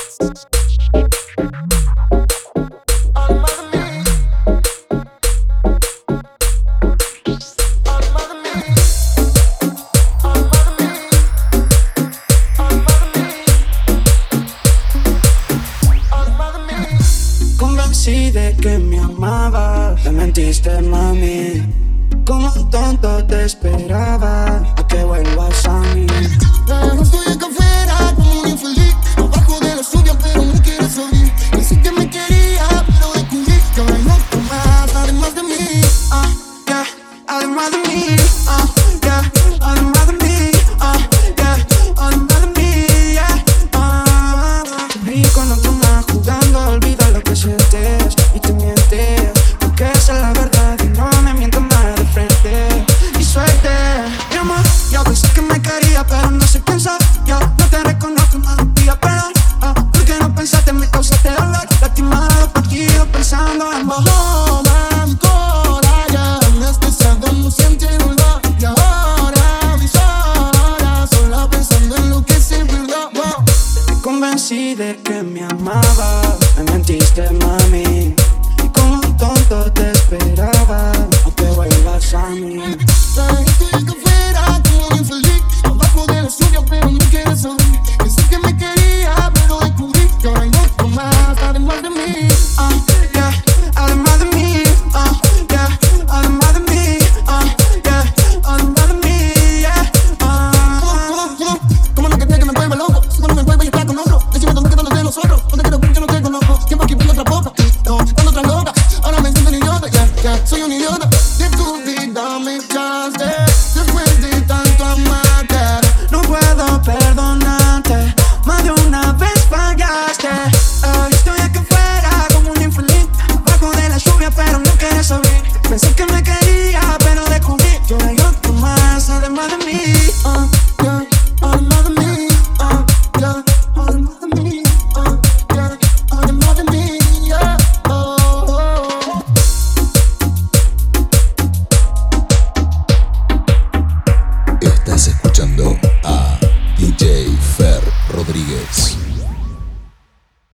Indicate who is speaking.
Speaker 1: Convencí de que me amabas, te mentiste, mami. Como un tonto te esperaba a que vuelvas a mí.
Speaker 2: Pero estoy acá afuera como un infeliz, abajo de la lluvia pero no quiero salir. Pensé que me quería pero descubrí que ahora hay otro más, además de mí.
Speaker 1: Yeah, además de mí. Yeah, además de mí. Yeah, además de mí. Yeah, vi con otro más jugando, olvida lo que sientes y te mientes, porque esa es la verdad y no me mientas más de frente. Y suerte, mi amor, yo pensé que me quería pero no sé pensar. Yo no te reconozco, no día perdón. Porque no pensaste, me causaste dolor, lastimado, partido, pensando en vos.
Speaker 2: Toda mi cola ya anestesiado, no siente dolor. Y ahora mis horas solo pensando en lo que se perdió.
Speaker 1: Me convencí de que me amabas, me mentiste, mami. Y como un tonto te esperaba a que vuelvas a mí.
Speaker 2: Estoy acá afuera como un infeliz,